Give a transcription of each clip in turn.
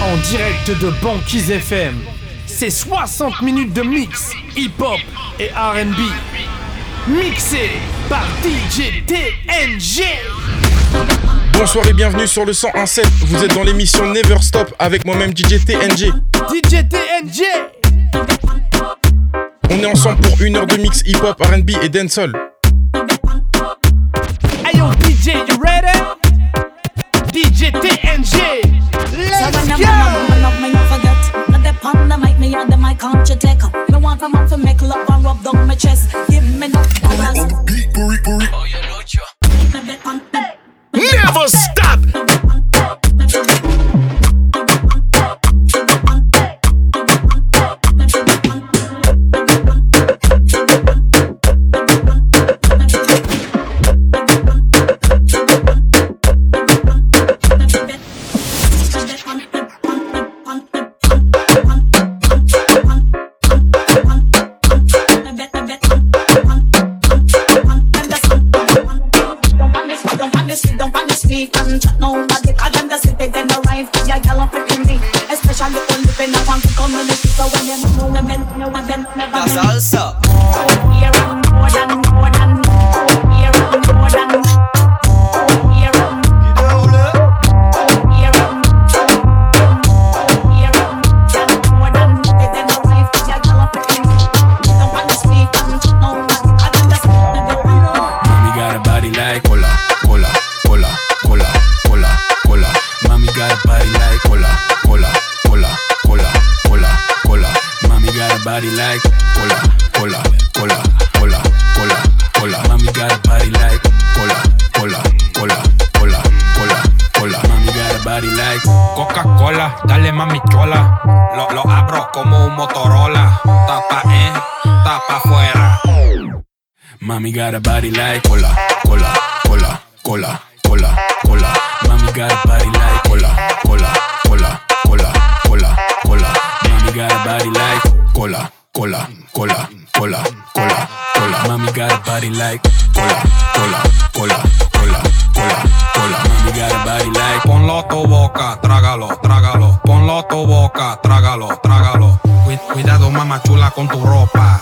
En direct de Banquise FM, c'est 60 minutes de mix, hip-hop et R&B. Mixé par DJ TNG. Bonsoir et bienvenue sur le 101.7. Vous êtes dans l'émission Never Stop avec moi-même DJ TNG. DJ TNG. On est ensemble pour 1 heure de mix hip-hop, R&B et dancehall. Hey yo DJ, you ready? DJ TNG. Let's go! On the mic, me and the mic, can't you take up? Me want a man to make love and rub down my chest. Give me enough balance. Oh, you know you. Never stop! Mami got a body like cola, cola, cola, cola, cola, cola. Mami got a body like cola, cola, cola, cola, cola, cola. Mami got a body like cola, cola, cola, cola, cola, cola. Mami got a body like cola, cola, cola, cola, cola, cola. Mami got a body like. Ponlo a tu boca, trágalo, trágalo. Ponlo a tu boca, trágalo, trágalo. Cuidado, mamá chula, con tu ropa.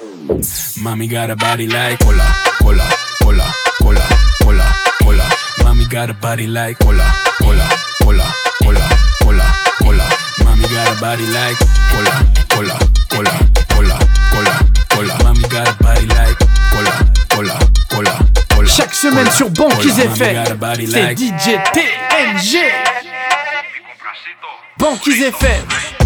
Mami got a body like cola, cola, cola, cola, cola, cola. Mami got a body like cola, cola, cola, cola, cola, cola. Mami got a body like cola, cola, cola, cola, cola, cola. Mami got a body like cola, cola, cola, cola. Chaque semaine sur Banquise FM, c'est DJ TNG. Banquise FM.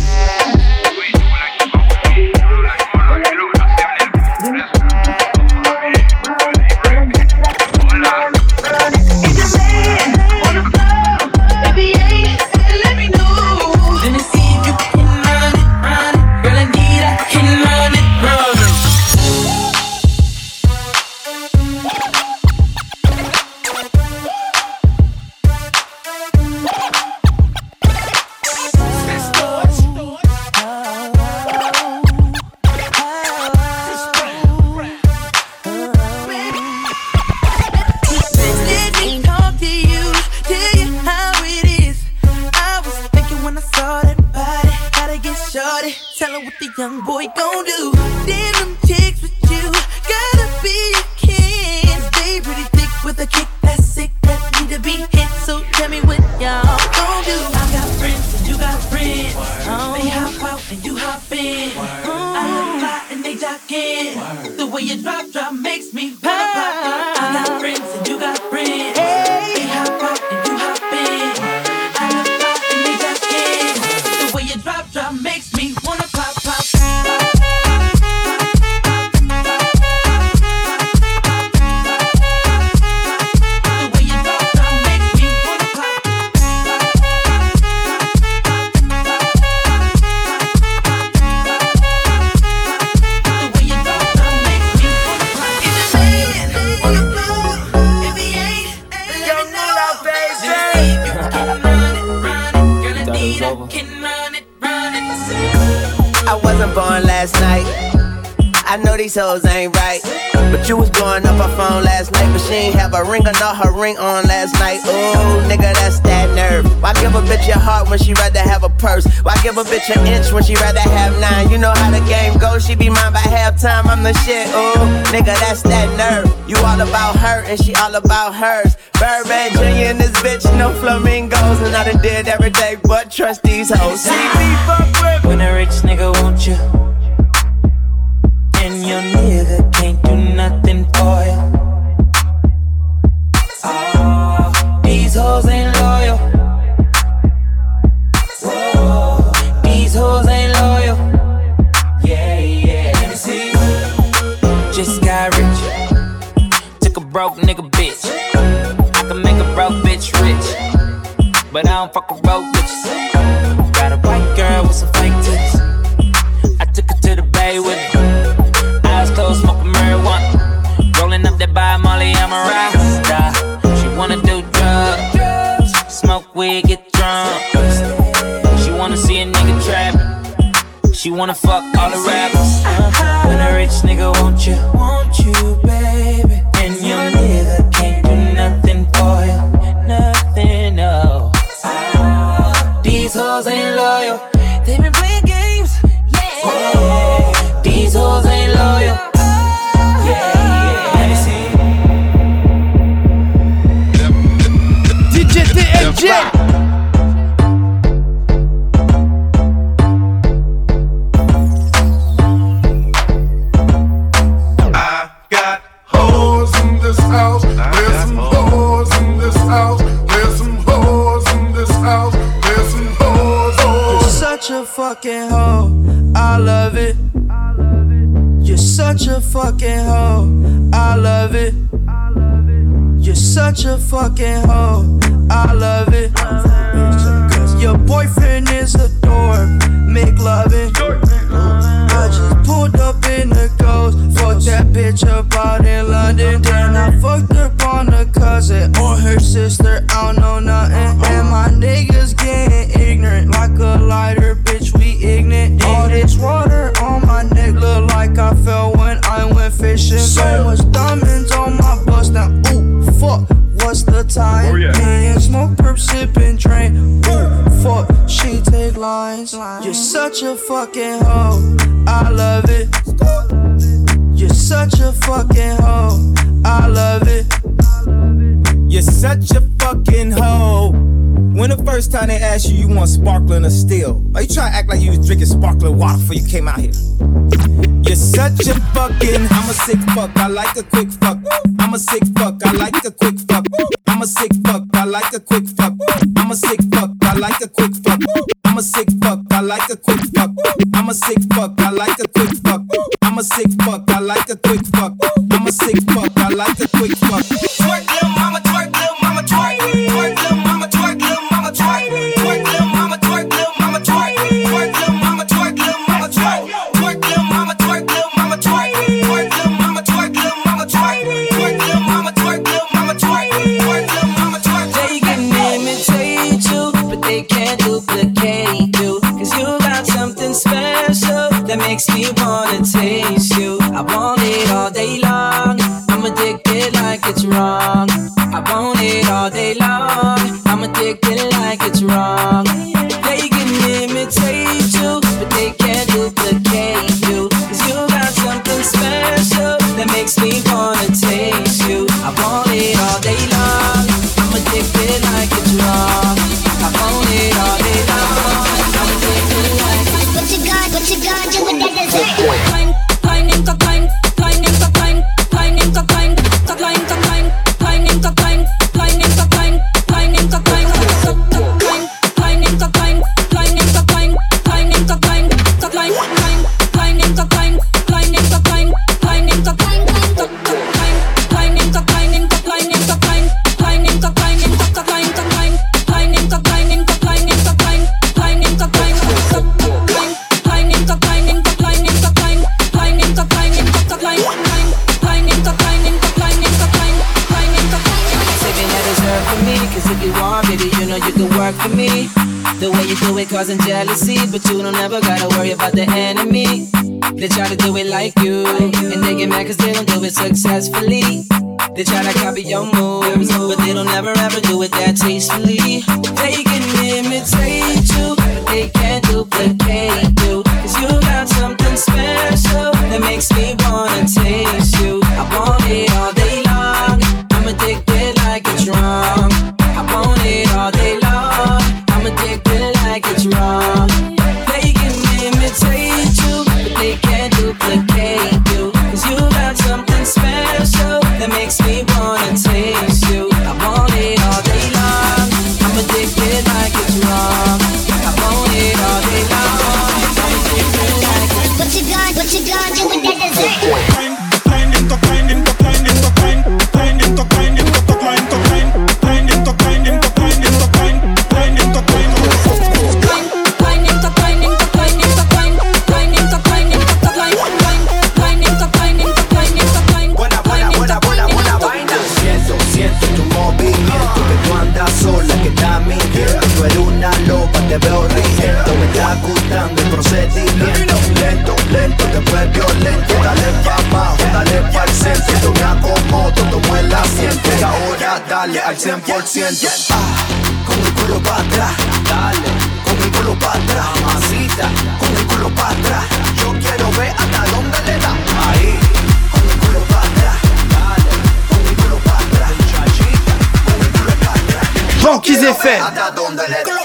Young boy gon' do. Damn them chicks with you, gotta be a king. Stay pretty thick with a kick that's sick, that need to be hit. So tell me what y'all gon' do. I got friends and you got friends. They hop out and you hop in. I fly and they jock in. The way you drop makes me wanna pop. I got friends and you got friends. They hop out and you hop in. I fly and they jock in. The way you drop makes me wanna pop. I wasn't born last night. I know these hoes ain't right. But you was blowing up her phone last night. But she ain't have a ring or not her ring on last night. Ooh, nigga, that's that nerve. Why give give a bitch your heart when she rather have a purse? Why give a bitch an inch when she rather have 9? You know how the game goes, she be mine by halftime. I'm the shit, ooh, nigga, that's that nerve. You all about her and she all about hers. Birdman Jr. and this bitch, no flamingos. And I done did every day but trust these hoes. See me fuck with when a rich nigga want you, and your nigga can't do nothing for you. Oh, these hoes ain't loyal. Whoa, these hoes ain't loyal. Yeah, yeah. Let me see. Just got rich. Took a broke nigga bitch. I can make a broke bitch rich, but I don't fuck with broke bitches. Got a white girl with some fake titties. I took her to the bay with me. Eyes closed, smoking marijuana. Rolling up that by Molly, I'm a rasta. She wanna do drugs, smoke weed, get drunk. She wanna see a nigga trapping. She wanna fuck all the rappers. When a rich nigga want you, baby, and your nigga can't do nothing for you, nothing, no. These hoes ain't loyal. They been playing games, yeah. These hoes ain't loyal. DJ TNG. Fucking hoe, I love it. You're such a fucking hoe, I love it. You're such a fucking hoe, I love it. Your boyfriend is a dork, make loving. I just pulled up in the ghost, fucked that bitch up out in London. Then I fucked up on her cousin or her sister, I don't know nothing. And my niggas getting ignorant like a lighter, bitch, we ignorant. All this water on my neck look like I fell when I went fishing. So much diamonds on my bust now, ooh, fuck, what's the time? Me and smoke, perp, sippin', drain, ooh, fuck, she take lines. You're such a fucking hoe, I love it. You're such a fucking hoe, I love it. You're such a fucking hoe. When the first time they asked you, you want sparkling or still? Are you trying to act like you was drinking sparkling water before you came out here? You're such a fucking, I'm a sick fuck, I like a quick fuck. I'm a sick fuck, I like a quick fuck. I'm a sick fuck, I like a quick fuck. I'm a sick fuck, I like a quick fuck. I'm a sick fuck, I like a quick fuck. I'm a sick fuck, I like a quick fuck. I'm a sick fuck, I like a quick fuck. I'm a sick fuck, I like a quick fuck. Twerk, little mama, twerk, little mama, twerk. Twerk, little mama, twerk, little mama, twerk. Twerk, little mama, twerk, little mama, twerk. Twerk, little mama, twerk, little mama, twerk. Twerk, little mama, twerk, little mama, twerk. Twerk, little mama, twerk, little mama, twerk. Twerk, little mama, twerk, little mama, twerk. Twerk, little mama, twerk. They can imitate you, but they can't duplicate you. 'Cause you got something special that makes me wanna taste you. I want it all day long. I'm addicted like it's wrong. I want it all day long. I'm addicted like it's wrong. They can imitate you, but they can't duplicate you. 'Cause you got something special that makes me wanna taste you. I want it all day long. I'm addicted like it's wrong. I want it all day long. I'm addicted like it's wrong. What you got do with that dessert? Climb, into climb, climb into climb, climb into climb, to climb, to climb, climb into climb, climb into climb, climb into climb, to climb, climb into climb, climb into climb, climb into climb, to climb, climb into climb, climb into climb, climb into climb, to climb, climb into climb, into climb, into climb, climb into climb, into to climb, to climb, climb into climb, into climb, into climb, climb into climb, to climb, climb into climb, into climb, into climb, climb into climb, into to climb, climb into climb, into climb, into climb, climb into climb. Saving that dessert for me, 'cause if you want, baby, you know you can work for me. The way you do it causing jealousy, but you don't ever gotta worry about the enemy. They try to do it like you, and they get mad 'cause they don't do it successfully. They try to copy your moves, but they don't ever ever do it that tastefully. They can al 100%. Con el culo para atrás, dale, con el culo para atrás, mamacita, con el culo para atrás. Yo quiero ver hasta dónde le da. Ahí, con el culo para atrás, dale, con el culo para atrás, muchachita, con el culo para atrás. Banquise FM. Hasta dónde le da.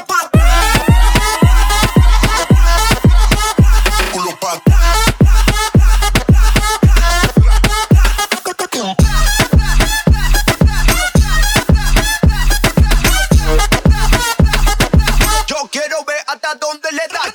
Yo quiero ver hasta dónde le da.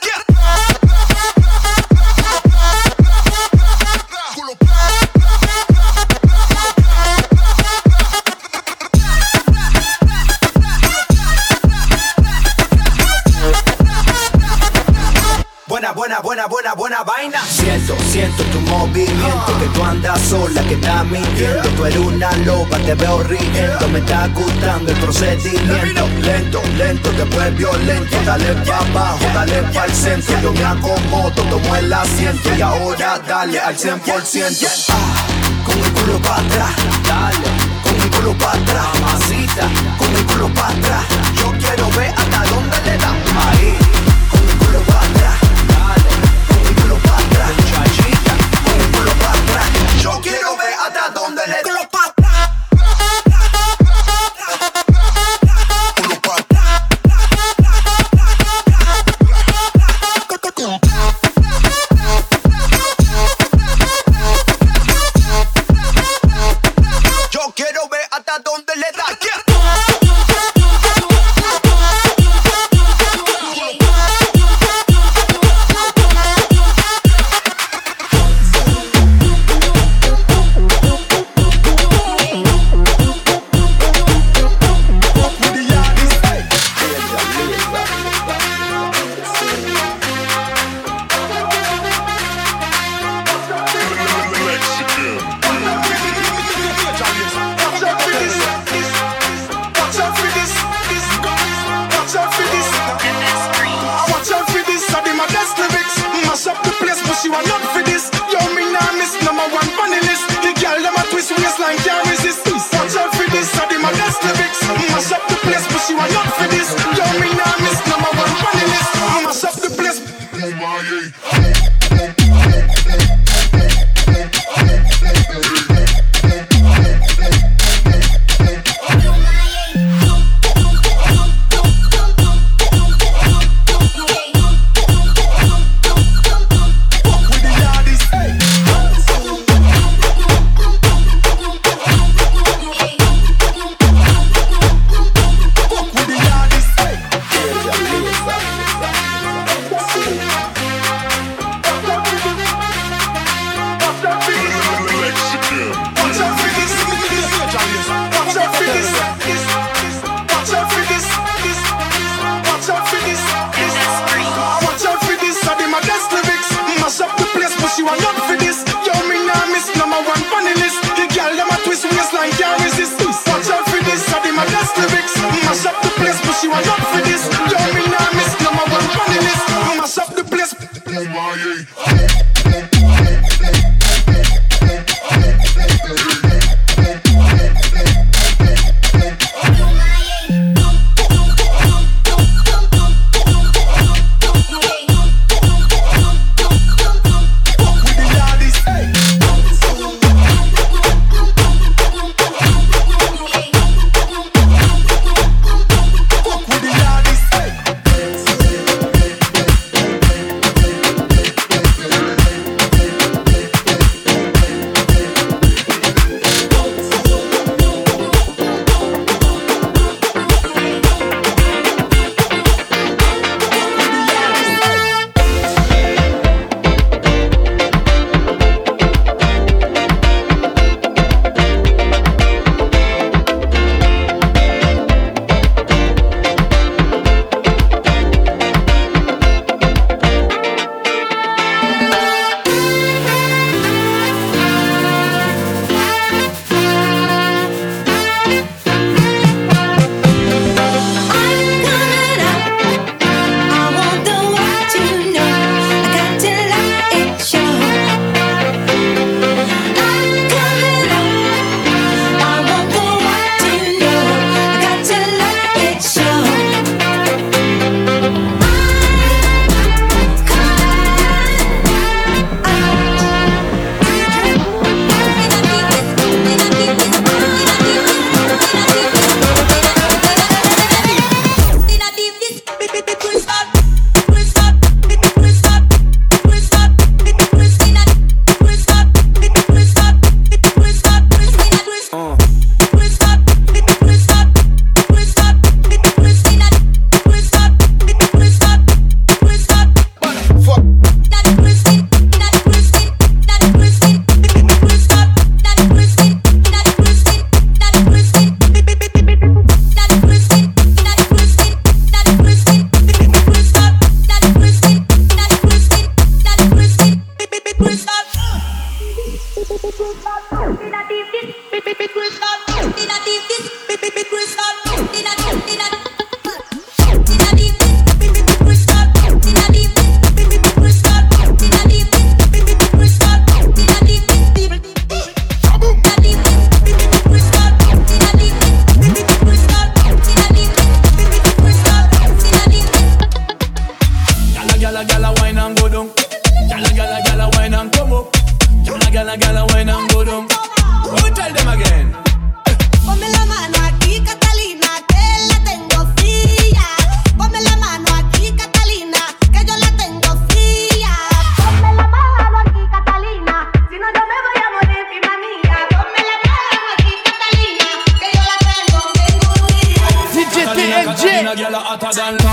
Buena vaina. Siento tu movimiento, que tú andas sola, que estás mintiendo. Tú eres una loba, te veo riendo. Me está gustando el procedimiento. Lento, después violento. Dale pa' abajo, dale pa' el centro. Yo me acomodo, tomo el asiento. Y ahora dale al 100%. Con el culo para atrás, dale, con el culo para atrás, mamacita, con el culo para atrás. Yo quiero ver hasta dónde le da. Ahí, con el culo para atrás, dale, con el culo para atrás, muchachita, con el culo para atrás. Yo quiero ver hasta dónde le da. Yo quiero ver hasta dónde le da.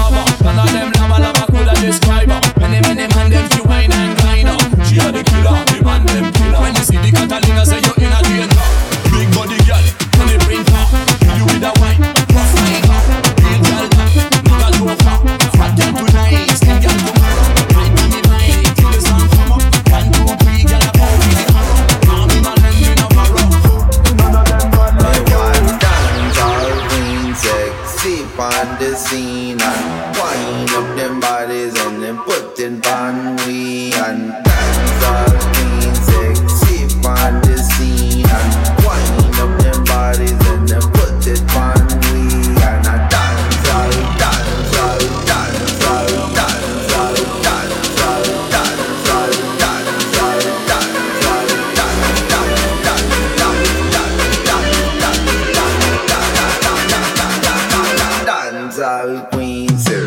lover. None of them lava coulda describe her. Many man them she wine and grind her. She a the killer, the man them killer. When you see the Catalina, say you in a danger. Big body girl, money printer. Kill you with a wine, rough fighter. Real girl, never joker. Fat girl tonight, skin girl tomorrow. Right on the line, kill the sun come up. 1, 2, 3, girl a pound in the hammer. Army man and me no borrow. None of them bad like you. Dance all queen, sexy on the scene and wind up them bodies and then put it on we and dance all queen, sexy on the scene and wind up them bodies and then put it on we and I dance all, dance all, dance all, dance all, dance all, dance all, dance all, dance all, dance all queen, sir.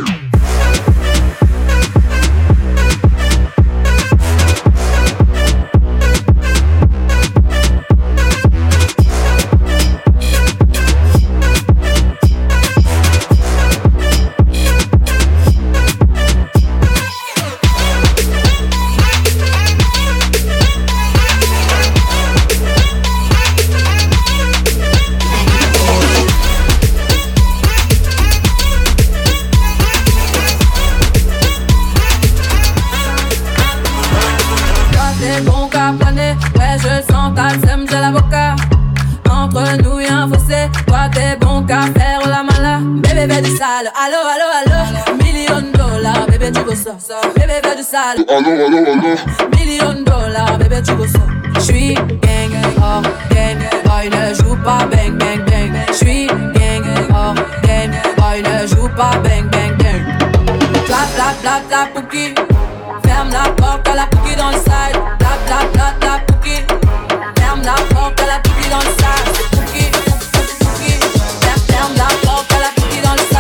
Allo, allo, allo, $1,000,000, bébé tu veux ça. Bébé veut du sale. Allo. $1,000,000, bébé tu veux ça. J'suis gang, oh gang, boy ne joue pas bang bang bang. J'suis gang, oh gang, boy ne joue pas bang bang bang. Clap, clap, clap, clap, pouki. Ferme la porte à la pouki dans le side. Clap, clap, clap, clap, pouki. Ferme la porte à la pouki dans le side. Pouki, pouki. Ferme la porte à la pouki dans le side.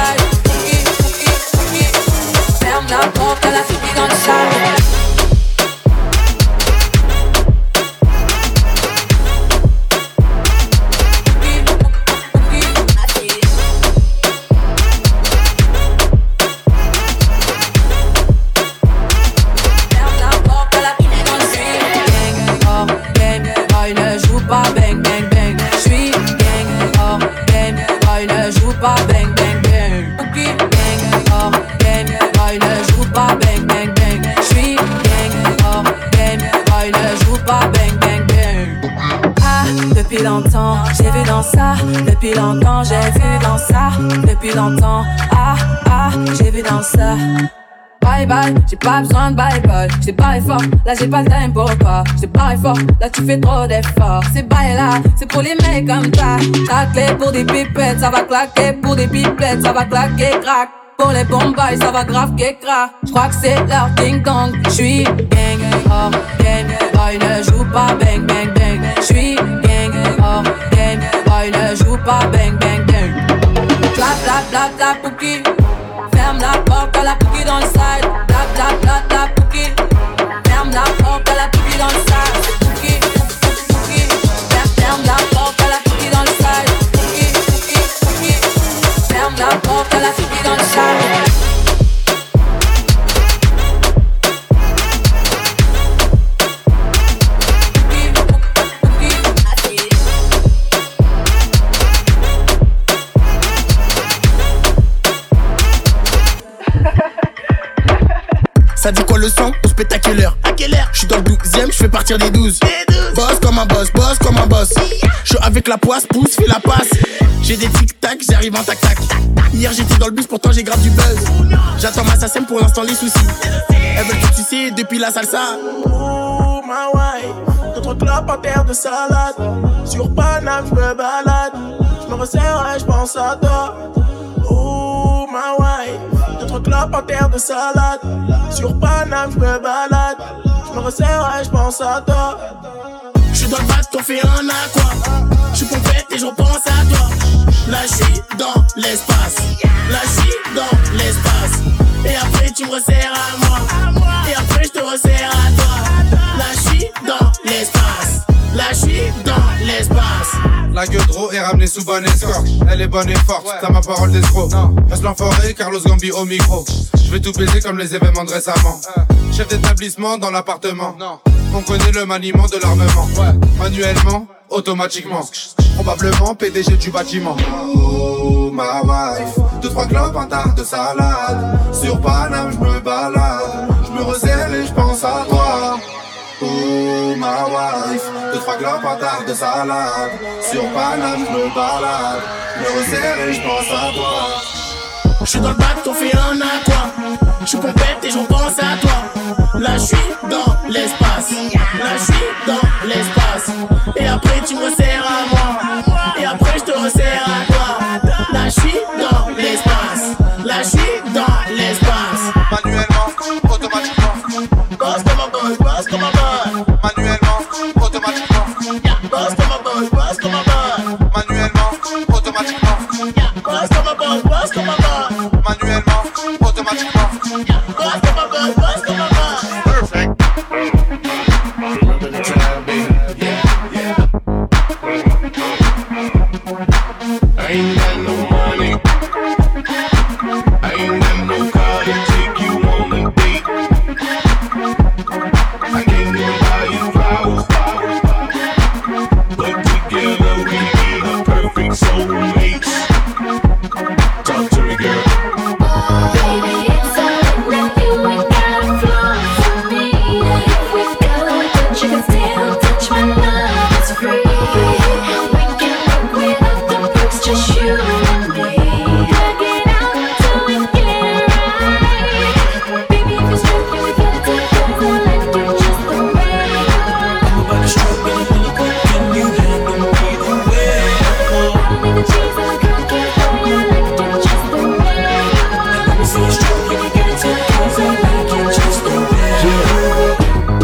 La porte à la fille dans le sable. Depuis longtemps, j'ai vu dans ça. Depuis longtemps, j'ai vu dans ça. Depuis longtemps, j'ai vu dans ça. Bye bye, j'ai pas besoin de bye bye. J't'ai barré fort, là j'ai pas le time pour toi. J't'ai barré fort, là tu fais trop d'efforts. C'est bye là, c'est pour les mecs comme ça. Ta clé pour des pipettes, ça va claquer. Pour des pipettes, ça va claquer, crack. Pour les bombes, ça va grave qu'écra. J'crois que c'est leur ding dong. J'suis gang, oh gang, boy ne joue pas bang bang bang. J'suis gang, oh gang, boy ne joue pas bang bang bang. Clap, clap, clap, clap, pouki. Ferme la porte à la pouki dans le side. Clap, clap, clap, clap, pouki. Ferme la porte à la pouki dans le side. Pouki, pouki. Ferme la porte à la pouki dans le side. Pouki, pouki, pouki. Ferme la porte à la pouki dans le side. Ça dit quoi le son? Au spectaculaire. À quelle heure? J'suis dans le 12ème, j'fais partir des 12. Boss comme un boss, boss comme un boss. J'suis avec la poisse, pousse, fais la passe. J'ai des tic-tac, j'arrive en tac-tac. Hier j'étais dans le bus, pourtant j'ai grave du buzz. J'attends ma SACEM pour l'instant les soucis. Elles veulent tout sucer depuis la salsa. Oh ma wife, notre club en terre de salade. Sur Paname j'me balade. J'me resserre et j'pense à toi. Oh ma wife, notre club en terre de salade. Sur Paname j'me balade. J'me resserre et j'pense à toi. J'suis dans le bac, t'en fais un aqua. J'suis pompette et j'repense à toi. Là j'suis dans l'espace. Là j'suis dans l'espace. Et après tu me resserres à moi. Et après j'te resserre à toi. Là j'suis dans l'espace. Là j'suis dans l'espace. La gueudreau est ramenée sous bonne escorte. Elle est bonne et forte, t'as ma parole d'escroc. Reste l'enfoiré, Carlos Gambi au micro. Je vais tout baiser comme les événements de récemment. Chef d'établissement dans l'appartement. On connaît le maniement de l'armement. Manuellement, automatiquement. Probablement PDG du bâtiment. Oh ma wife, 2-3 clopes, un tarte de salade. Sur Paname, j'me balade. J'me resserre et j'pense à toi. Oh ma wife, 2-3 clopes, un tarte de salade. Sur Paname, j'me balade. J'me resserre et j'pense à toi. J'suis dans le bateau, fait un aqua. J'suis pompette et j'en pense à toi. Là j'suis dans l'espace. Là j'suis dans l'espace. Et après tu me resserres à moi. Et après j'te resserre à toi. Là j'suis dans l'espace. Là j'suis dans l'espace. Manuellement, automatiquement. Boss comme un boss, boss comme un boss. Manuellement, automatiquement. Boss comme un boss, boss comme un boss. Manuellement, automatiquement. Boss comme un boss, boss comme un boss. Manuellement, automatiquement. Boss comme un boss, boss comme un boss. Perfect. Remember the time, baby. Yeah. I ain't got no money. I ain't got no car to take you on a date. I can't even buy you flowers. But together we be the perfect soulmates. Talk to me, girl. Baby, it's all in you ain't got a flaw for me. If we go, but you can still touch my love. It's free. We can work without the perks, just you and me. Work it out till we get it right. Baby, if it's true, we got to go and do just the way you are. I'm about to stroke and I'm really quick. Can you handle me the way I I don't need the cheese or the cocky for you. I like you just the way you are. let me see you stroke and you get it to the girls. I like it just the way you are.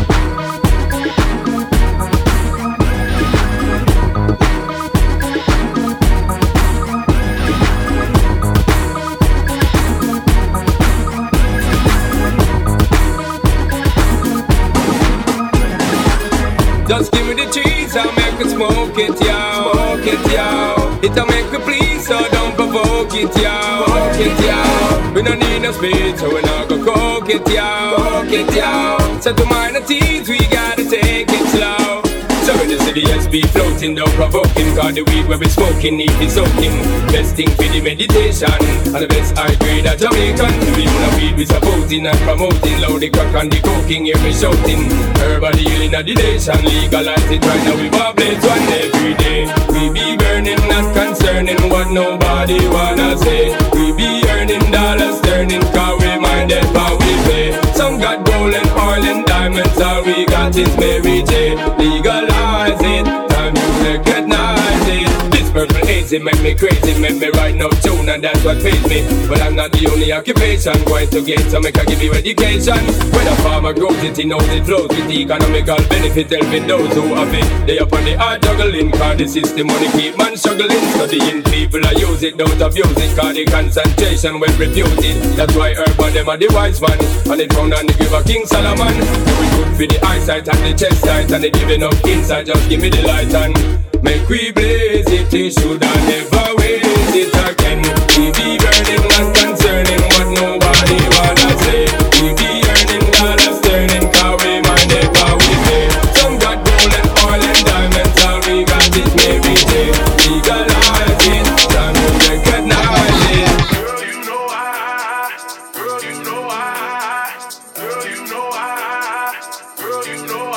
Just give me the cheese, I'll make it smoke it, yo. Smoke it, yo. It'll make me please, so don't provoke it, yo. Smoke it, yo. We don't need no speed, so we're not gonna coke it, yo. Coke it, yo. So to minor teens, we gotta take it slow. So in the city, yes, be floating, don't provoking. Cause the weed where we smoking, need be soaking. Best thing for the meditation. And the best high grade at Jamaican. We wanna weed we supporting and promoting. Loud the crack and the coking, hear me shouting. Everybody healing at the nation. Legalize it right now, we vibrate one every day. We be burning, not concerning what nobody wanna say. We be earning dollars, turning, cause we minded how we pay. Some got gold and oil and diamonds, all we got is Mary J. Legalize it, time you recognize it. This purple hazy make me crazy, make me write no tune, and that's what pays me. But I'm not the only occupation going to get, so make I give you education. When a farmer grows it, he knows it flows with economical benefit, helping those who have it. They up on the hard juggling, cause the system money keep man struggling. Studying people I use it, don't abuse it, cause the concentration well reputed. That's why urban them are the wise man, and it found on the giver King Solomon. We good for the eyesight and the chest sight, and they giving up inside, just give me the light and make we blaze it. They should have never waste it again. We be burning, not concerning what nobody wanna say. We be earning dollars, turning, cause we minded how we pay. Some got gold and oil and diamonds, all we got is Mary J. Legalize it, time to recognize it. Girl, you know I, girl, you know I, girl, you know I, girl, you know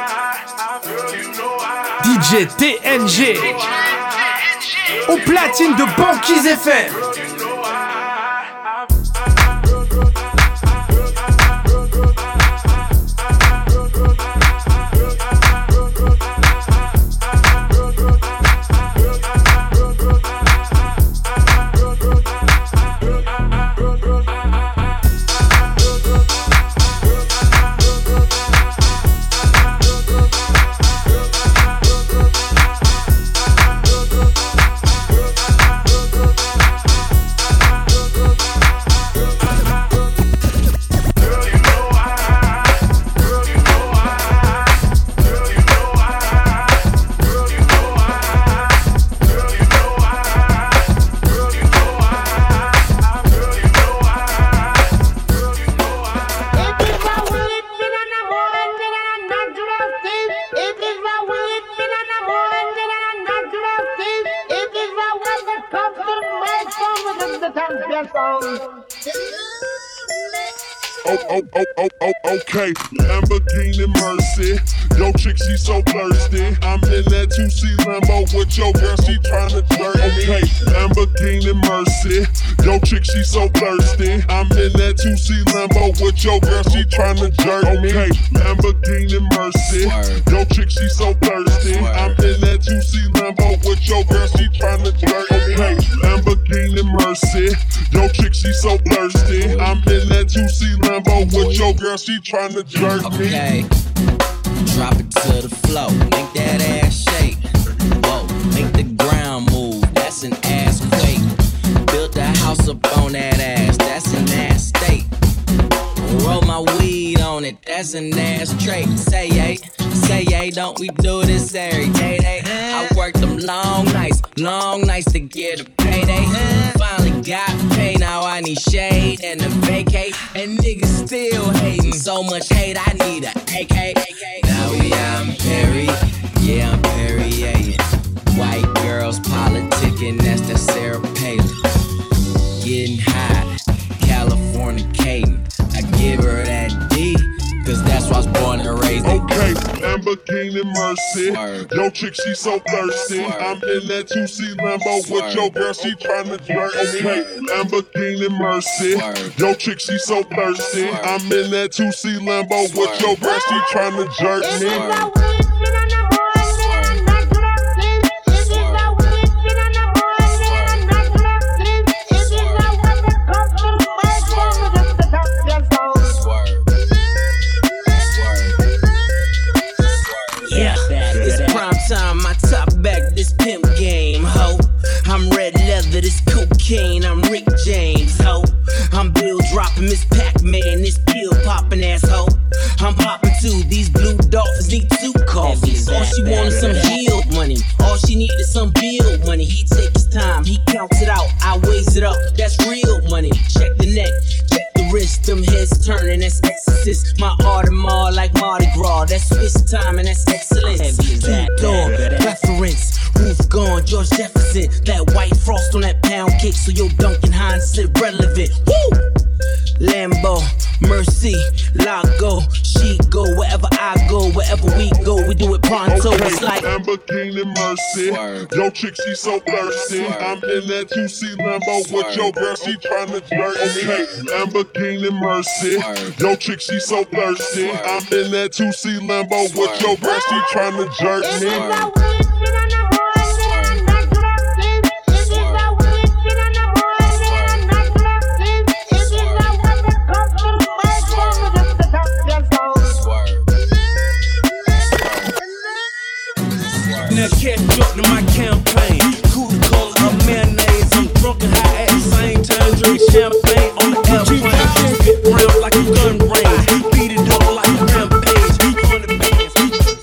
I, girl, you know I. DJ TNG au platine de Banquise FM. Okay, Lamborghini Mercy. Yo, chick, she so thirsty. I'm in that 2C Lambo with your girl, she tryna jerk me. Okay, Lamborghini Mercy. Yo, chick, she so thirsty. I'm in that 2C Lambo with your girl, she tryna jerk me. Okay, Lamborghini Mercy. Yo, chick, she so thirsty. I'm in that 2C Lambo with your girl, she tryna jerk me. Okay, Lamborghini Mercy. Yo, chick, she so thirsty. I'm in that 2C Lambo with your girl, she tryna jerk me. Okay, drop it to the floor, make that ass shake. Whoa, make the ground move, that's an ass quake. Built a house up on that ass, that's an ass state. Roll my weed on it, that's an ass trait. Say yay, don't we do this every day? I worked them long nights to get a payday. Finally got paid, now I need shade and a vacate. And niggas still hating, so much hate, I need a AK. Now I'm Perry, yeah, I'm Perry, yeah. White girls politicking, that's the Sarah Palin. Getting high, Californicating. I give her that D, cause that's why I was born and raised. Okay, Lamborghini Mercy. Yo, chick, she so thirsty. I'm in that 2C Lambo with your girl, she tryna jerk me. Okay, Lamborghini Mercy. Yo, chick, she so thirsty. I'm in that 2C Lambo with your girl, she tryna jerk me. Time, my top back, this pimp game, ho. I'm red leather, this cocaine, I'm Rick James, ho. I'm Bill dropping, Miss Pac-Man, this pill popping ass ho. I'm popping too, these blue dolphins need 2 coffees. All she wanted some yield money, all she needed some bill money. He take his time, he counts it out, I weighs it up, that's real money. Check the neck, check the wrist, them heads turning, that's exorcist. My Audemars like Mardi Gras, that's Swiss time and that's excellence. Two-door reference, roof gone, George Jefferson. That white frost on that pound cake, so your Duncan Hines is irrelevant. Woo! Lambo, Mercy, Lago, she go wherever I go, wherever we go, we do it pronto. Okay, it's like Lamborghini Mercy. Yo, chick, she so thirsty. I'm in that 2C Lambo with your girl, she tryna jerk me. Okay, Lamborghini Mercy. Yo, chick, she so thirsty. I'm in that 2C Lambo with your girl, she tryna jerk me. Now catch up to my campaign. Cool color of mayonnaise. I'm drunk and high at the same time. Drink champagne on the airplane. Spit round like a gun range. Beat it up like a rampage. 100 bands.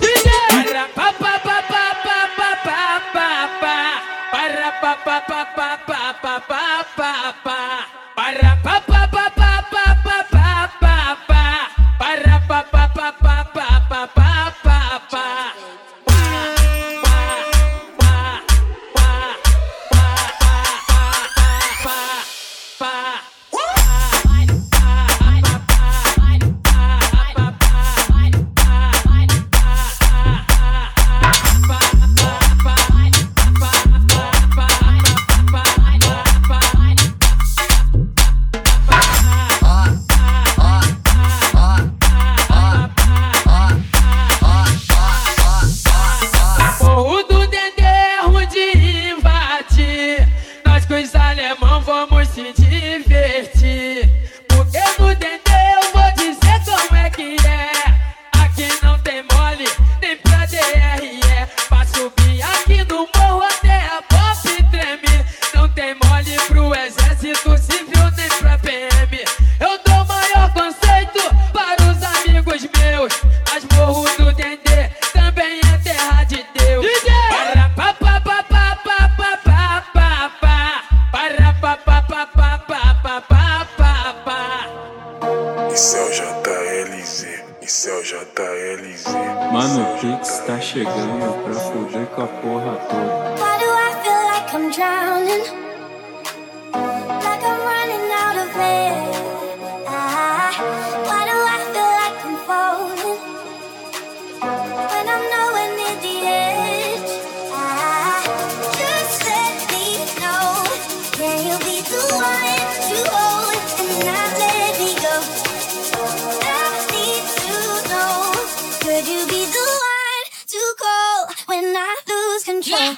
Mano, o Pix tá chegando pra fuder com a porra toda. Why do I feel like I'm drowning? Like I'm running out of air. control.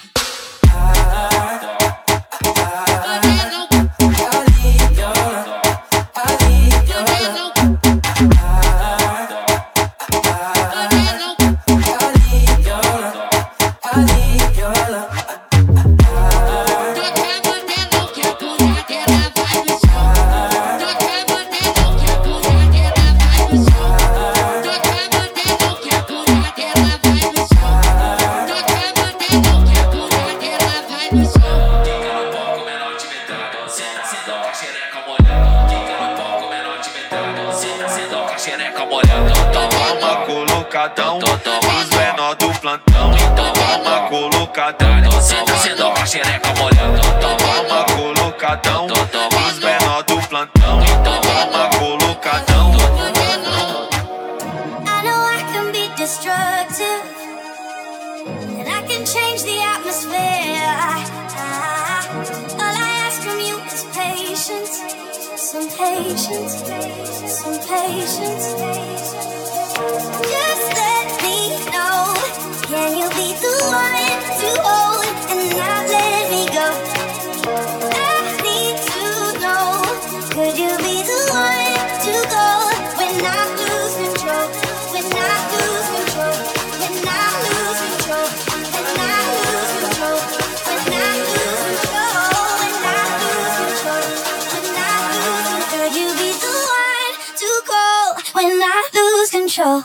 Toma colocadão, os menor do plantão. Toma colocadão, sendo com a xereca molhada. Toma colocadão, os menor do plantão. Toma colocadão. I know I can be destructive, and I can change the atmosphere. All I ask from you is patience, some patience, some patience. Just let me know, can you be the one to hold and not let me go? I need to know, could you be the one to go when I lose control? When I lose control, when I lose control, when I lose control, when I lose control, when I lose control, when I lose control, could you be the one to call when I lose control?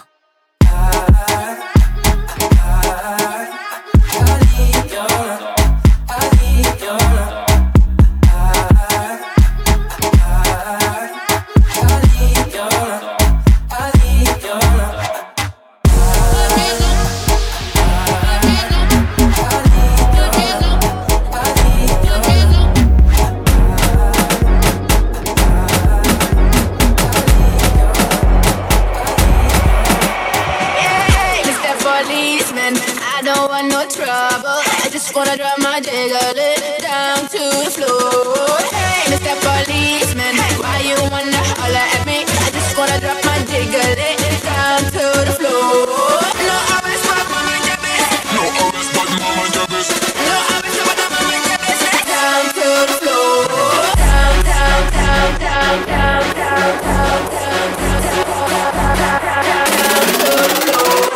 Wanna drop my jiggle it down to the floor. Hey, Mr. Policeman, why you wanna holler at me? I just wanna drop my jiggle it down to the floor. No, I respect my mind, your best. No, I respect my mind, your best. No, I respect my mind, your best. Down to the floor. Down, down, down, down, down, down, down, down, down to the floor.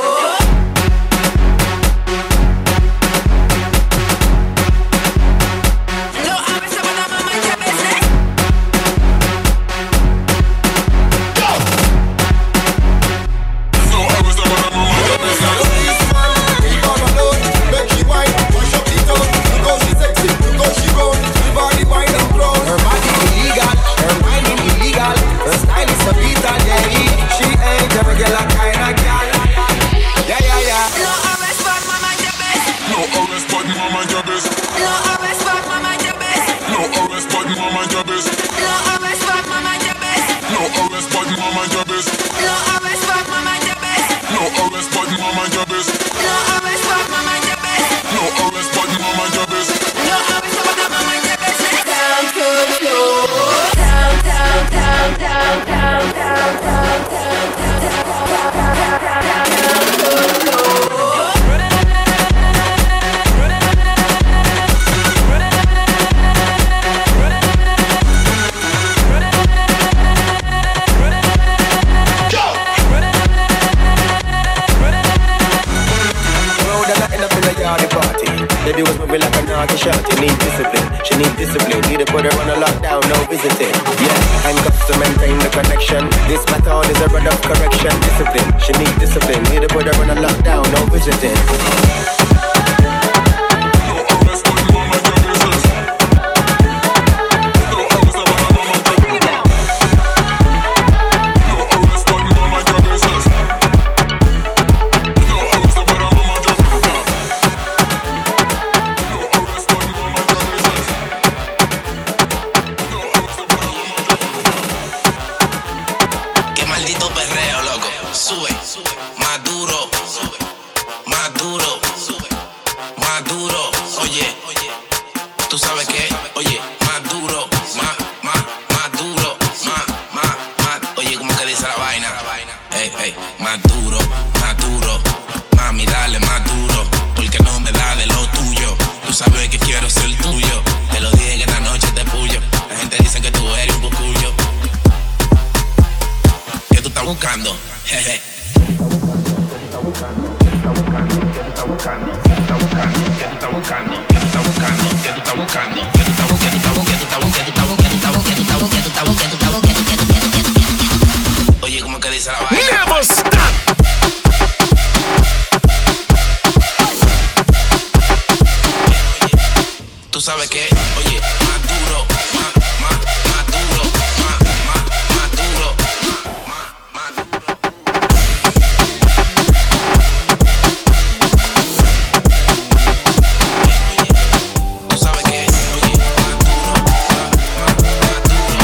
Baby was moving like a naughty shot. You need discipline, she need discipline. Need to put her on a lockdown, no visiting. Yeah, handcuffs to maintain the connection. This method is a rod of correction. Discipline, she need discipline. Need to put her on a lockdown, no visiting. Más duro, mami dale más duro, porque no me da de lo tuyo. buscando. Jeje. Oye, ¿cómo que dice la vaina? Never stop. Tú sabes que, oye, más duro, más duro, más duro. Tú sabes que, oye, más duro, más duro,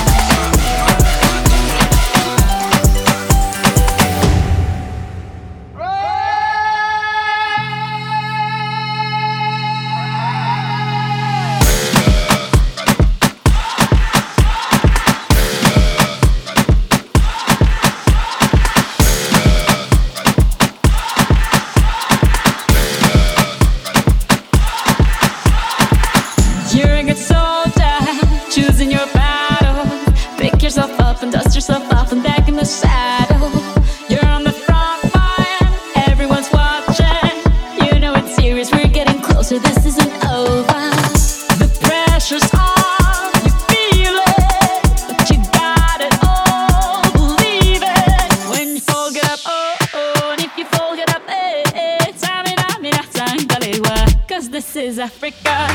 You're a good soldier, choosing your battle. Pick yourself up and dust yourself off and back in the saddle. You're on the front line, everyone's watching. You know it's serious, we're getting closer, this isn't over. The pressure's on, you feel it, but you got it all, believe it. When you fall, get up, oh, oh, and if you fall, get up, eh, eh. Tamina, mina, tangalewa, 'cause this is Africa.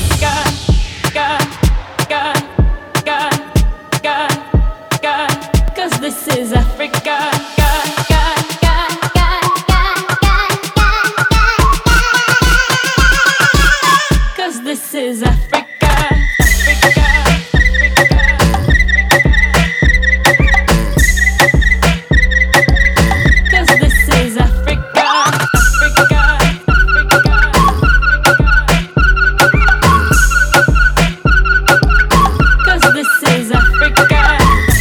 Cause this is Africa. Cause this is Africa. Cause this is Africa. Cause this is Africa.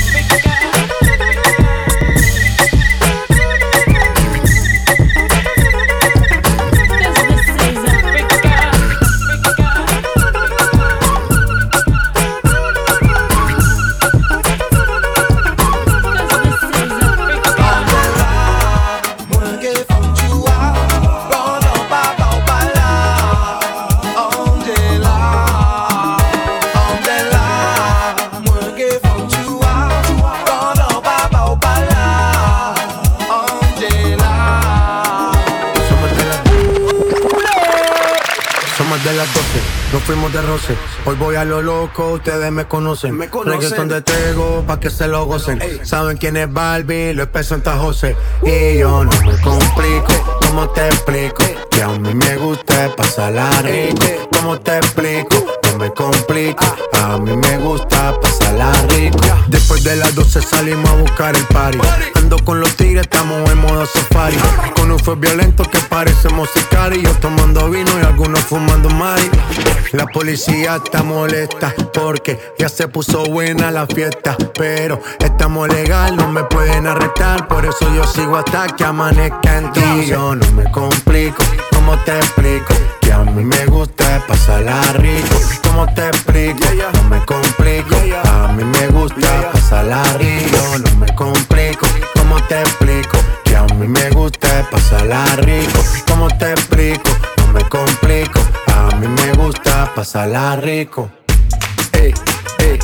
De las 12, nos fuimos de roce. Hoy voy a lo loco, ustedes me conocen. Reggaeton de Tego, pa' que se lo gocen. Saben quién es Barbie, lo expreso en Tajose. Y yo no me complico, ¿cómo te explico? Que a mí me gusta pasarla rico. ¿Cómo te explico? No me complico, a mí me gusta pasarla rico. Después de las 12 salimos a buscar el party. Ando con los tigres, estamos en modo safari. Con un fue violento que parecemos sicarios. Yo tomando vino y algunos fumando mari. La policía está molesta porque ya se puso buena la fiesta. Pero estamos legal, no me pueden arrestar. Por eso yo sigo hasta que amanezca en ti. Y yo no me complico, ¿cómo te explico? Que a mí me gusta pasarla rico. ¿Cómo te explico? No me complico, a mí me gusta pasarla rico. No me complico, ¿cómo te explico? Que a mí me gusta pasarla rico. ¿Cómo te explico? No me complico, a mí me gusta pasarla rico. Ey, ey,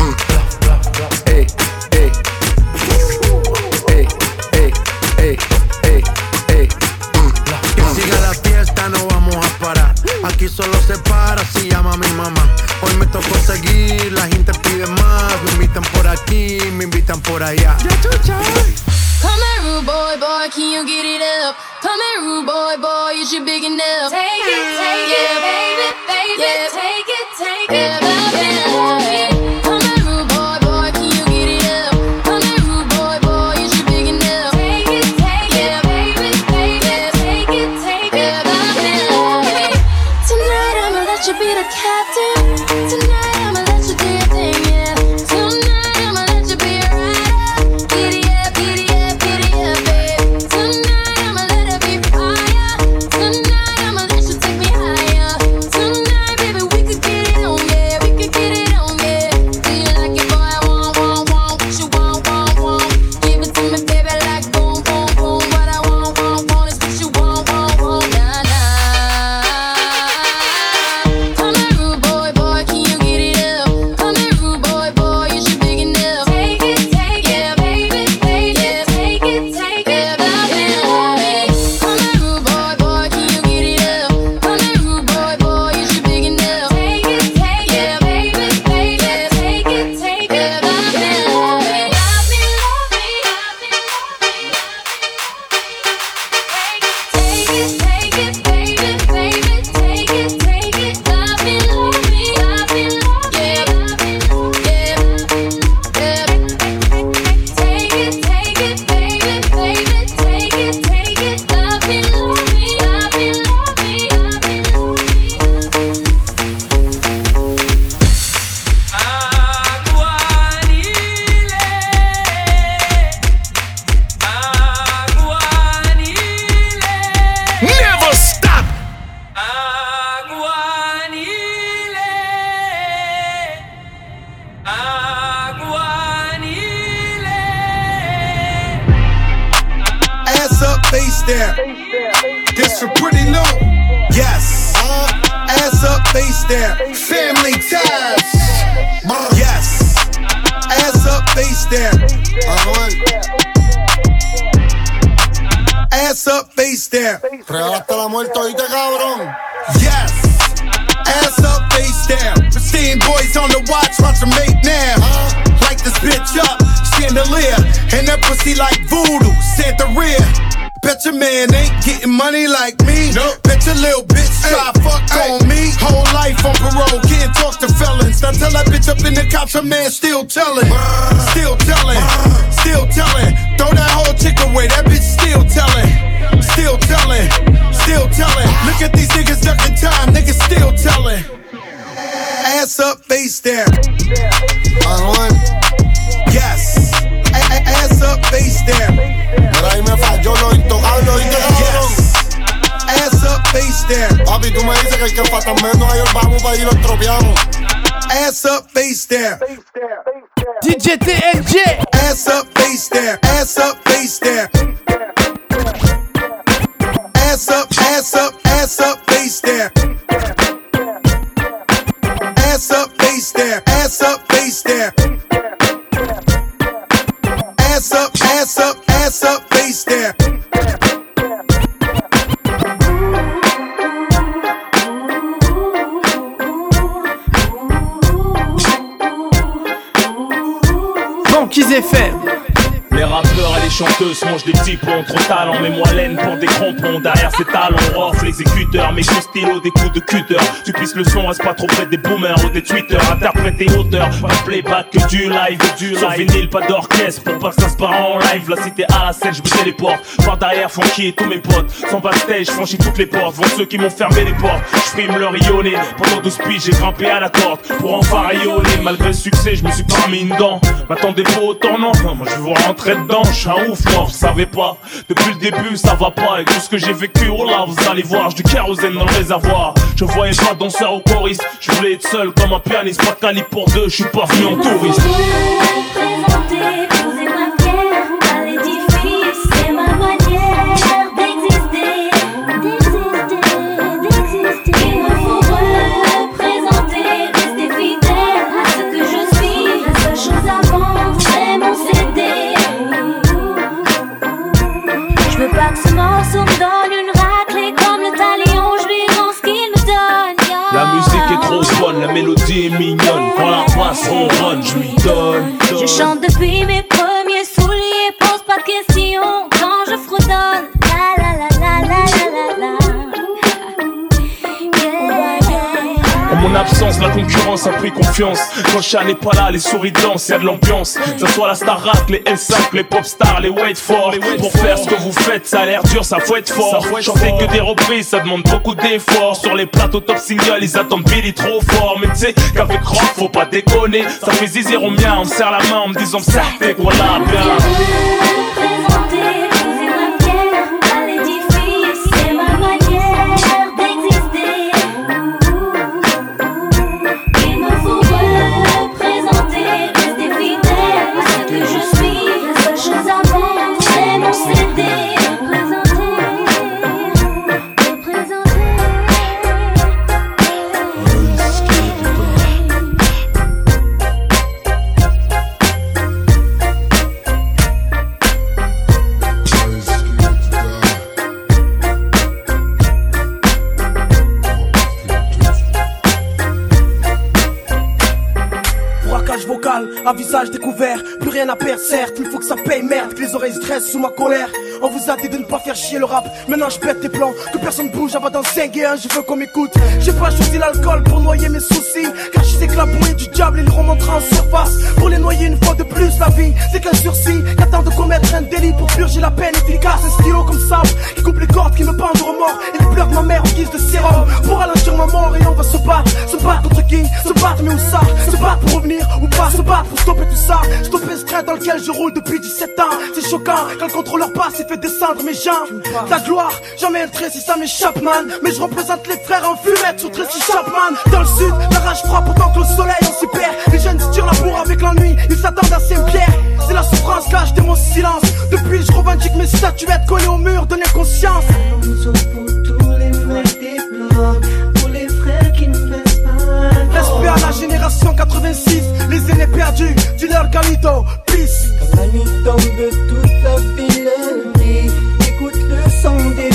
ey, ey, ey, ey, ey, ey, ey. Que siga la fiesta, no vamos a parar. Aquí solo se para si llama mi mamá. Hoy me tocó seguir, la gente pide más. Me invitan por aquí, me invitan por allá. Come here, rude boy, boy, can you get it up? Come here, rude boy, boy, is you big enough? Take it, baby, baby, yeah. Take it, baby. Come here, rude boy, boy, can you get it up? Come here, rude boy, boy, is you big enough? Take it, yeah, baby, baby, yeah. Take it, baby. Tonight I'ma let you be the captain. Tonight I'ma let you do your thing, yeah. Tonight I'ma let you be a rider. Giddy up, babe. Tonight I'ma let it be fire. Tonight I'ma let you take me higher. Tonight, baby, we could get it on, yeah. We could get it on, yeah. face down. This for pretty new. Yes. Ass up, face down. Family ties. Yes. Ass up, face down. Ass up, face down. Regalaste la muerte, oíste, cabrón. Yes. Ass up, face down. Pristine boys on the watch them make now. Light this bitch up, chandelier. And that pussy like voodoo, Santeria. Bet your man ain't getting money like me. Nope. Bet your little bitch try fuck on me. Whole life on parole, can't talk to felons. Now tell that bitch up in the cops, her man still telling. Still telling, still telling. Throw that whole chick away, that bitch still telling. Still telling, still telling. Look at these niggas ducking time, niggas still telling. Ass up, face down. Yes. Ass up, face down. Pero ahí me falló lo intocable, oíste, cabrón. Ass up, face down. Papi, tú me dices que el que falta menos ayer vamos para allí lo estropeamos. Ass up, face down. DJ TNG. Ass up, face down. Ass up, face down. Ass up, ass up, ass up, face down. Ass up, face down. Ass up, face down. Ass up, ass up, ass up, face down. Banquise FM. Les rappeurs et les chanteuses mangent des petits ponts. Trop talent, mais moi laine pour des crampons. Derrière ces talons, off l'exécuteur. Mes coups stylo, des coups de cutter. Tu pisses le son, reste pas trop près des boomers ou des tweeters. Interpréter auteur, pas de playback que du live. Sur vinyle, pas d'orchestre pour pas que ça se part en live. La cité à la scène, je les portes. Par derrière, funky et tous mes potes. Sans backstage, je franchis toutes les portes. Vont ceux qui m'ont fermé les portes. Je frime le rayonné. Pendant 12 piges, j'ai grimpé à la corde pour enfin rayonner. Malgré le succès, je me suis pas mis une dent. M'attendez pas au tournant. Moi je vais vous rentrer dedans. Je suis un ouf, moi, vous savez pas. Depuis le début, ça va pas. Avec tout ce que j'ai vécu, oh là, vous allez voir. J'ai du kérosène dans le réservoir. Je voyais pas danseur ou choriste. Je voulais être seul comme un pianiste. Pas de calibre pour deux, je suis pas venu en touriste. Présenter, posez-moi pierre à l'édifice. C'est ma manière d'exister. Il me faut représenter, rester fidèle à ce que je suis. La seule chose à vendre, c'est mon CD. Je veux pas que ce morceau me donne une raclée comme le talion. Je lui rends ce qu'il me donne. La musique est trop bonne, la mélodie est mignonne. Quand la basse ronronne, je lui donne. Je chante depuis mes premiers souliers. Pose pas de questions quand je fredonne. La la la la la la la. En mon absence, la concurrence a pris confiance. Quand Chat n'est pas là, les souris dansent, y'a de l'ambiance. Que ce soit la Starac, les L5, les Popstars, les Wait For. Pour faire ce que vous faites, ça a l'air dur, ça faut être fort. Chanter que des reprises, ça demande beaucoup d'efforts. Sur les plateaux top single, ils attendent Billy trop fort. Mais tu sais qu'avec rock, faut pas déconner. Ça fait zizir au mien, on me serre la main en me disant ça, t'es quoi là, bien. Présenter, posez-moi pierre à l'édifice. C'est ma manière d'exister. Il me faut représenter, rester fidèle à ce que je suis. La seule chose à vendre, c'est mon CD. À visage découvert, plus rien à perdre certes. Il faut que ça paye merde, que les oreilles stressent sous ma colère. On vous a dit de ne pas faire chier le rap. Maintenant je pète tes plans, que personne bouge avant d'en 5 et 1. Je veux qu'on m'écoute. J'ai pas choisi l'alcool pour noyer mes soucis, car je sais que la bouée du diable il remontera en surface. Pour les noyer une fois de plus, la vie c'est qu'un sursis qu'attend de commettre un délit pour purger la peine efficace. Un stylo comme sable qui coupe les cordes, qui me pendent de remords. Et les pleurs de ma mère en guise de sérum pour ralentir ma mort. Et on va se battre contre qui? Se battre mais où ça? Se battre pour revenir ou pas? Se battre pour stopper tout ça. Stopper ce train dans lequel je roule depuis 17 ans. C'est choquant quand le contrôleur passe et fait descendre mes jambes. Ta gloire, jamais un trait si ça m'échappe man. Mais je représente les frères en fumette sur Tracy Chapman. Dans le sud, la rage frappe autant que le soleil on s'y perd. Les jeunes se tirent la bourre avec l'ennui, ils s'attendent à Saint-Pierre. C'est la souffrance, là je mon silence. Depuis je revendique mes statuts tu vas être collé au mur de l'inconscience. Alonso pour tous les mecs des blocs, pour les frères qui ne baissent pas. Respect à la génération 86, les aînés perdus, dis-leur Galito, peace. Quand la nuit tombe, toute la ville brille. Écoute le son des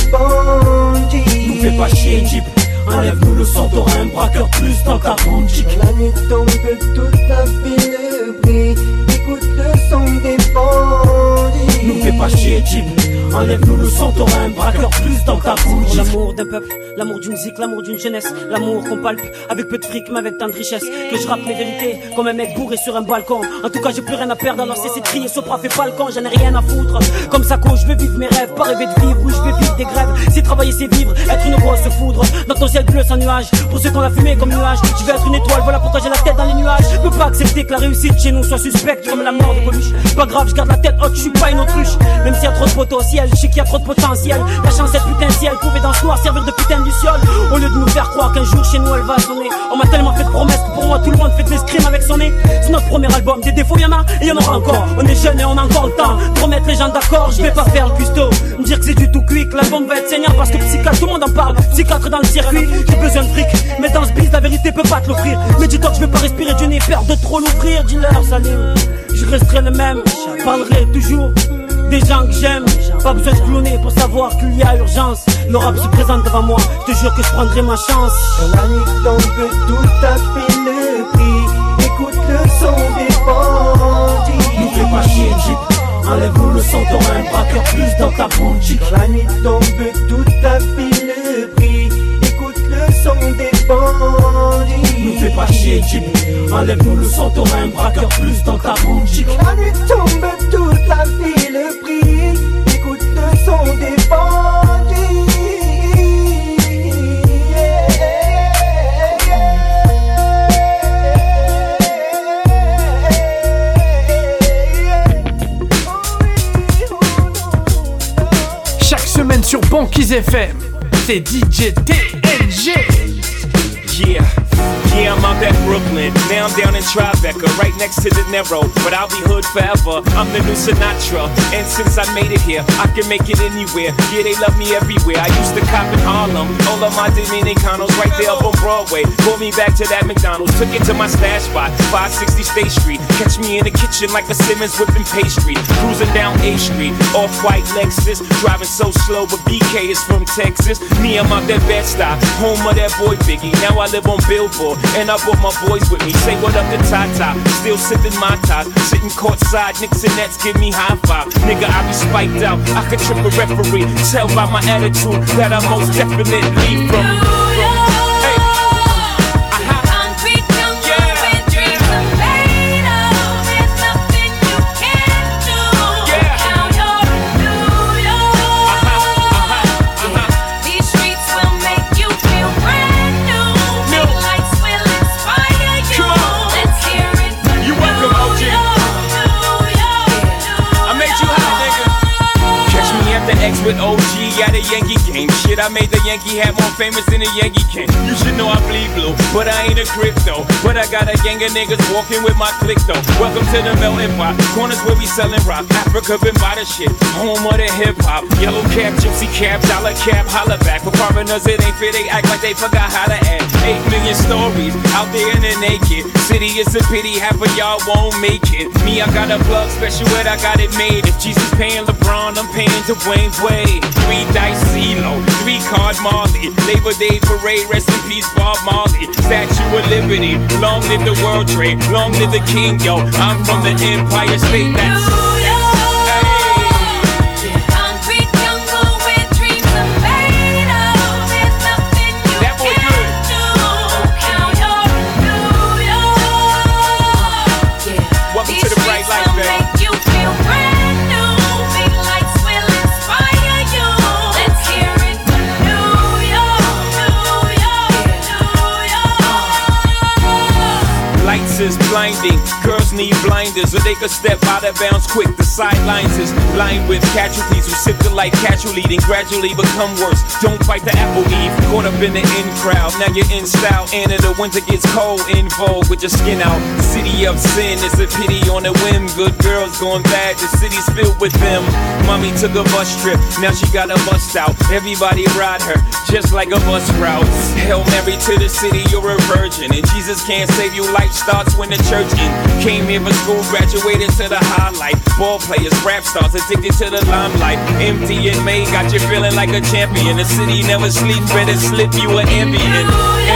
bandits. Nous fais pas chier, Jeep. Enlève-nous le son, t'auras un braqueur plus dans ta boutique. Quand la nuit tombe, toute la ville brille. Écoute le son des bandits. Nous fais pas chier, Jeep. Enlève-nous le son, t'auras un braqueur plus dans ta bouche. L'amour d'un peuple, l'amour d'une musique, l'amour d'une jeunesse. L'amour qu'on palpe avec peu de fric mais avec tant de richesse. Que je rappe mes vérités comme un mec bourré sur un balcon. En tout cas j'ai plus rien à perdre alors cessez de crier. Sopra fait pas le con, j'en ai rien à foutre. Comme Sako je veux vivre mes rêves, pas rêver de vivre. Ou je veux vivre des grèves, c'est travailler c'est vivre. Être une grosse foudre dans ton ciel bleu sans nuage. Pour ceux qu'on a fumé comme nuage, je veux être une étoile, voilà pourquoi j'ai la tête dans les nuages. Je peux pas accepter que la réussite chez nous soit suspecte comme la mort de Coluche. Pas grave, je garde la tête haute, je suis pas une autruche. Même s'il y a trop de potentiel, je sais qu'il y a trop de potentiel. La chance est putain si elle pouvait dans ce noir servir de putain de luciole. Au lieu de nous faire croire qu'un jour chez nous elle va sonner. On m'a tellement fait de promesses que pour moi tout le monde fait de l'escrime avec son nez. C'est notre premier album, des défauts y'en a et y'en aura encore. On est jeunes et on a encore le temps de remettre les gens d'accord. Je vais pas faire le custo, me dire que c'est du tout cuit, que l'album va être saignant parce que psychiatre tout le monde en parle. Psychiatre dans le circuit, j'ai besoin de fric, mais dans ce biz la vérité peut pas te l'offrir. Mais dis-toi que je vais pas respirer du nez, peur de trop l'ouvrir. Dis-leur Salim, je resterai le même, je parlerai toujours des gens que j'aime, pas besoin de cloner pour savoir qu'il y a urgence. Le rap se présente devant moi, je te jure que je prendrai ma chance. Quand la nuit tombe, tout a fait le prix. Écoute le son des bandits. Nous fais pas chier, Jeep. Enlève-nous le son, t'auras un braqueur plus dans ta boutique. Quand la nuit tombe, tout a fait le prix. Écoute le son des bandits. Nous fais pas chier, Jeep. Enlève-nous le son, t'auras un braqueur plus dans ta boutique. Quand la nuit tombe, toute la ville brille. Écoute le son des bandits. Chaque semaine sur Banquise FM, c'est DJ TNG. Yeah, I'm out at Brooklyn. Now I'm down in Tribeca, right next to the Narrow. But I'll be hood forever. I'm the new Sinatra. And since I made it here, I can make it anywhere. Yeah, they love me everywhere. I used to cop in Harlem. All of my Dominicanos right there up on Broadway. Pulled me back to that McDonald's. Took it to my stash spot, 560 State Street. Catch me in the kitchen like a Simmons whipping pastry. Cruising down A Street, off-white Lexus. Driving so slow, but BK is from Texas. Me, I'm out that Bed-Stuy, home of that boy Biggie. Now I live on Billboard, and I brought my boys with me. Say what up to Tata, still sipping my ties. Sitting courtside, Knicks and Nets give me high five. Nigga, I be spiked out, I could trip a referee. Tell by my attitude that I most definitely from. With OG at a Yankee game. Shit, I made the Yankee hat more famous than the Yankee can. You should know I bleed blue, but I ain't a crypto. But I got a gang of niggas walking with my click though. Welcome to the melting pot. Corners where we selling rock. Africa been by the shit. Home of the hip hop. Yellow cap, gypsy cap, dollar cap, holla back. For foreigners it ain't fair, they act like they forgot how to act. 8 million stories out there in the naked city. It's a pity half of y'all won't make it. Me, I got a plug special ed, I got it made. If Jesus paying LeBron, I'm paying Dwayne Wade. 3 dice CeeLo, 3 card Marley. Labor Day parade, rest in peace Bob Marley. Statue of Liberty, long live the World Trade, long live the King, yo. I'm from the Empire State, that's is blinding, girls need blinding. reminders so they could step out of bounds quick. The sidelines is lined with casualties who sip the light casually, then gradually become worse. Don't fight the apple eve, caught up in the in crowd. Now you're in style, and in the winter gets cold, in vogue with your skin out. City of sin, it's a pity on a whim. Good girls going bad, the city's filled with them. Mommy took a bus trip, now she got a bust out. Everybody ride her, just like a bus route. Hail Mary to the city, you're a virgin, and Jesus can't save you. Life starts when the church in. Came here for school, graduated to the highlight. Ball players, rap stars, addicted to the limelight. Empty and May got you feeling like a champion. The city never sleeps, better slip you an ambient.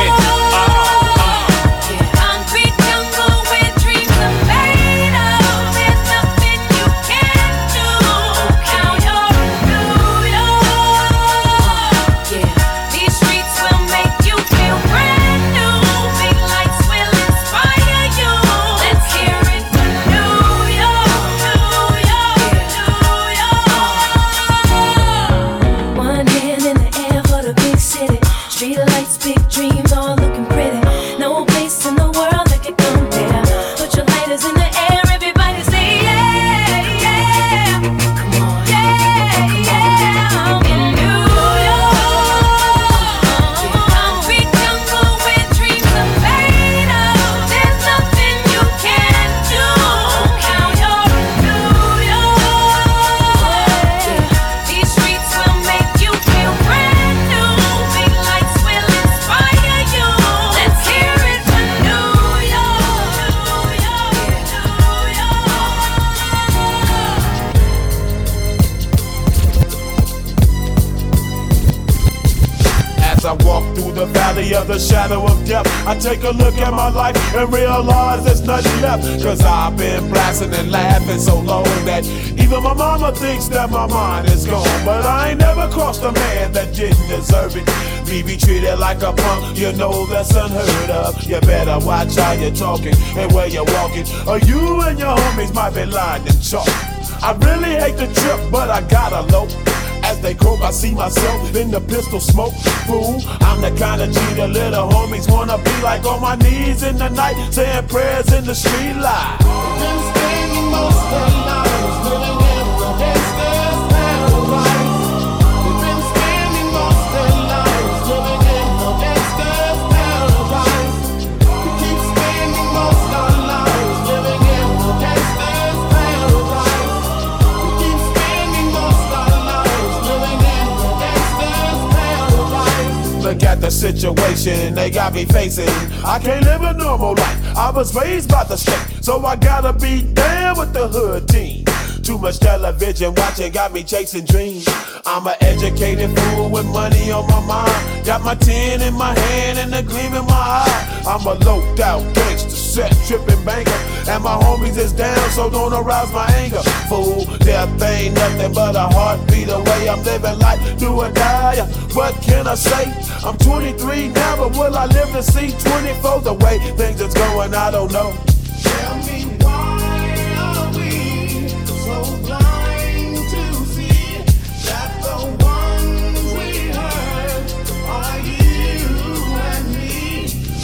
Of the shadow of death, I take a look at my life and realize there's nothing left. Cause I've been blasting and laughing so long that even my mama thinks that my mind is gone. But I ain't never crossed a man that didn't deserve it. Me be treated like a punk, you know that's unheard of. You better watch how you're talking and where you're walking, or you and your homies might be lined in chalk. I really hate the trip, but I gotta low. As they croak, I see myself in the pistol smoke. Fool, I'm the kind of G the little homies wanna be like, on my knees in the night, saying prayers in the street light. Been spending most of their lives living in the gangster's paradise. They've been spending most of their lives living in the gangster's paradise. We keep spending most of our lives living in the gangster's paradise. We keep spending most of our lives living in the gangster's paradise. Look at the situation they got me facing. I can't live a normal life. I was raised by the state, so I gotta be down with the hood team. Too much television watching got me chasing dreams. I'm an educated fool with money on my mind. Got my tin in my hand and a gleam in my eye. I'm a loped out gangster, set tripping banker, and my homies is down, so don't arouse my anger. Fool, death ain't nothing but a heartbeat away. I'm living life, do or die. What can I say? I'm 23 now, but will I live to see 24? The way things is going, I don't know. Tell me why are we so blind to see that the ones we hurt are you and me?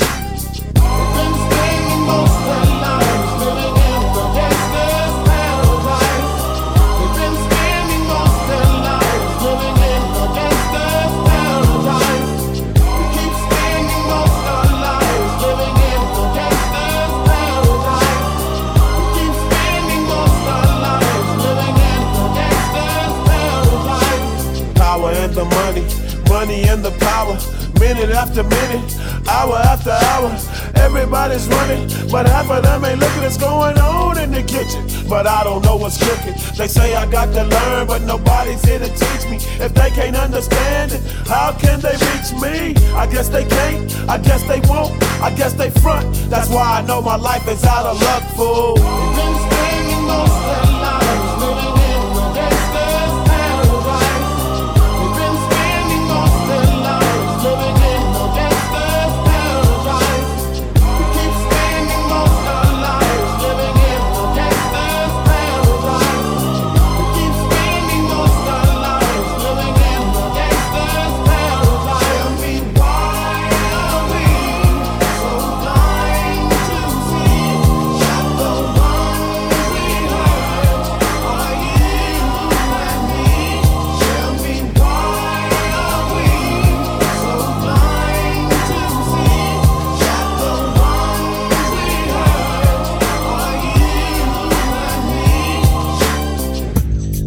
We've been spending most of our lives living in the gangster's paradise. We've been spending most of our lives living in the gangster's paradise. We keep spending most of our lives living in the gangster's paradise. We keep spending most of our lives living in the gangster's paradise. Power and the money and the power. Minute after minute, hour after hour, everybody's running, but half of them ain't looking what's going on in the kitchen. But I don't know what's cooking. They say I got to learn, but nobody's here to teach me. If they can't understand it, how can they reach me? I guess they can't, I guess they won't, I guess they front. That's why I know my life is out of luck, fool. We've been spending most of our lives living in the gangster's paradise. We've been spending most of our lives living in the gangster's paradise. We keep spending most of our lives living in the gangster's paradise. We keep spending most of our lives living in the gangster's paradise. Tell me why are we so blind to see that the ones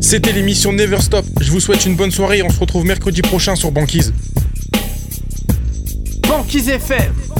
C'était l'émission Never Stop. Je vous souhaite une bonne soirée et on se retrouve mercredi prochain sur Banquise. Banquise FM.